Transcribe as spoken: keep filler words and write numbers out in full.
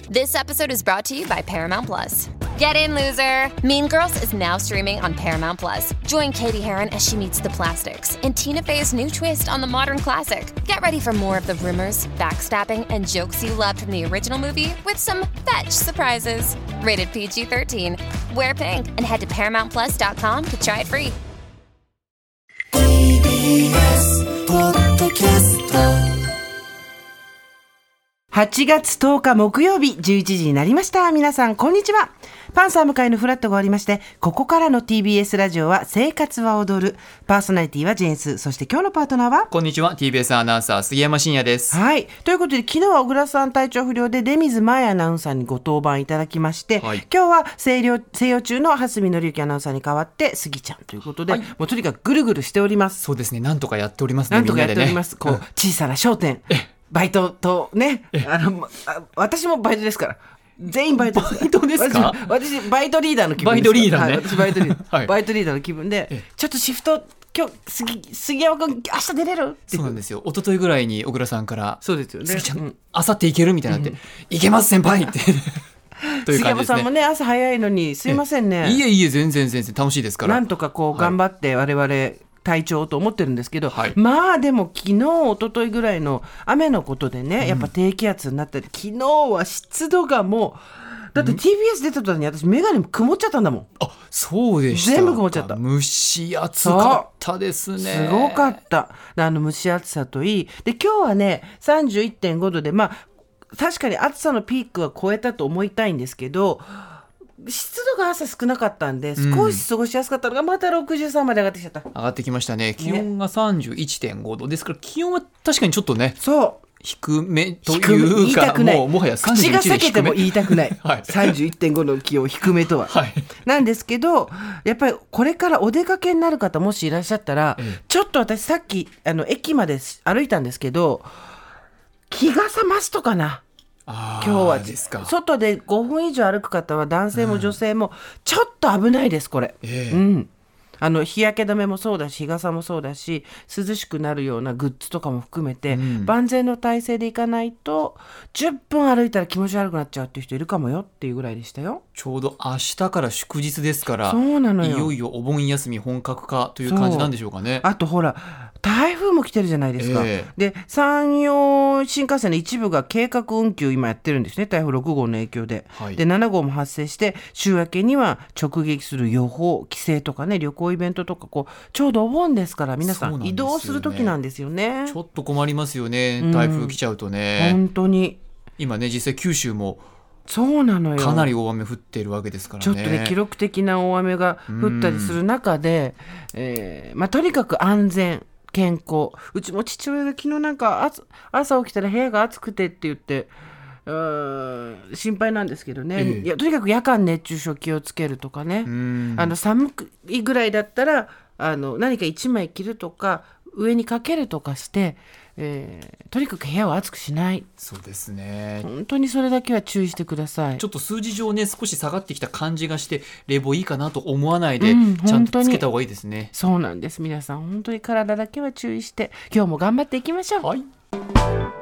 This episode is brought to you by Paramount Plus. Get in, loser! Mean Girls is now streaming on Paramount Plus. Join Katie Heron as she meets the plastics in Tina Fey's new twist on the modern classic. Get ready for more of the rumors, backstabbing, and jokes you loved from the original movie with some fetch surprises. Rated P G thirteen. Wear pink and head to paramount plus dot com to try it free. ティービーエス ポッドキャストはちがつとおか木曜日じゅういちじになりました。皆さんこんにちは。パンサー向かいのフラットが終わりまして、ここからの ティービーエス ラジオは生活は踊る。パーソナリティはジェーンス、そして今日のパートナーはこんにちは、 ティービーエス アナウンサー杉山真也です。 はい、ということで昨日は小倉さん体調不良で出水舞アナウンサーにご登板いただきまして、はい、今日は静養静養中の蓮見紀之アナウンサーに代わって杉ちゃんということで、はい、もうとにかくぐるぐるしております。 そうですね、なんとかやっておりますね。 なんとかやっております、ね、こう小さな商店バイトとね、あのあ私もバイトですから全員バイトです。 バイトですか？ 私、私バイトリーダーの気分です。 バイトリーダーね、 はい、私バイトリーダー、はい、バイトリーダーの気分でちょっとシフト今日 杉, 杉山君明日出れるってそうなんですよ。一昨日ぐらいに小倉さんからそうですよね、 杉ちゃん、うん、明後日行けるみたいになって、うん、行けます先輩ってという感じですね。 杉山さんもね朝早いのにすいませんね。 いえいえ全然全然楽しいですから、 なんとかこう頑張って我々、はい体調と思ってるんですけど、はい、まあでも昨日一昨日ぐらいの雨のことでね、やっぱ低気圧になったり、昨日は湿度がもうだって ティービーエス 出た途端に私眼鏡曇っちゃったんだもん。 あ、そうでした。 全部曇っちゃった。 蒸し暑かったですね。 すごかった。あの蒸し暑さといいで、今日はね さんじゅういってんごどで、まあ確かに暑さのピークは超えたと思いたいんですけど、湿度が朝少なかったんで少し過ごしやすかったのがまたろくじゅうさんまで上がってきちゃった、 うん、上がってきましたね。気温が さんじゅういってんごどですから、気温は確かにちょっとね、 そう低めというか、もうもはやさんじゅういちで低め、口が裂けても言いたくない、はい、さんじゅういってんごの気温低めとは、はい、なんですけど、やっぱりこれからお出かけになる方もしいらっしゃったら、ええ、ちょっと私さっきあの駅まで歩いたんですけど、日傘マストかな。今日はですか。外でごふん以上歩く方は男性も女性もちょっと危ないですこれ、えーうん、あの日焼け止めもそうだし日傘もそうだし涼しくなるようなグッズとかも含めて、うん、万全の体制でいかないとじゅっぷん歩いたら気持ち悪くなっちゃうっていう人いるかもよっていうぐらいでしたよ。 ちょうど明日から祝日ですから、 そうなのよ。 いよいよお盆休み本格化という感じなんでしょうかね。 あとほら台風も来てるじゃないですか、えー、で山陽新幹線の一部が計画運休今やってるんですね、台風ろくごうの影響で、はい、でななごうも発生して週明けには直撃する予報、帰省とかね、旅行イベントとかこうちょうどお盆ですから皆さん移動する時なんですよね。 ちょっと困りますよね、台風来ちゃうとね、 うん、本当に今ね実際九州もそうなのよ、 かなり大雨降っているわけですからね。 ちょっとね記録的な大雨が降ったりする中で、えーまあ、とにかく安全健康、うちも父親が昨日なんか朝起きたら部屋が暑くてって言ってうーん心配なんですけどね、ええ、いやとにかく夜間熱中症気をつけるとかね、あの寒いぐらいだったらあの何か一枚着るとか上にかけるとかして、えー、とにかく部屋を暑くしない。 そうですね、 本当にそれだけは注意してください。 ちょっと数字上ね少し下がってきた感じがして冷房いいかなと思わないで、うん、ちゃんとつけた方がいいですね。 そうなんです。皆さん本当に体だけは注意して今日も頑張っていきましょう。 はい。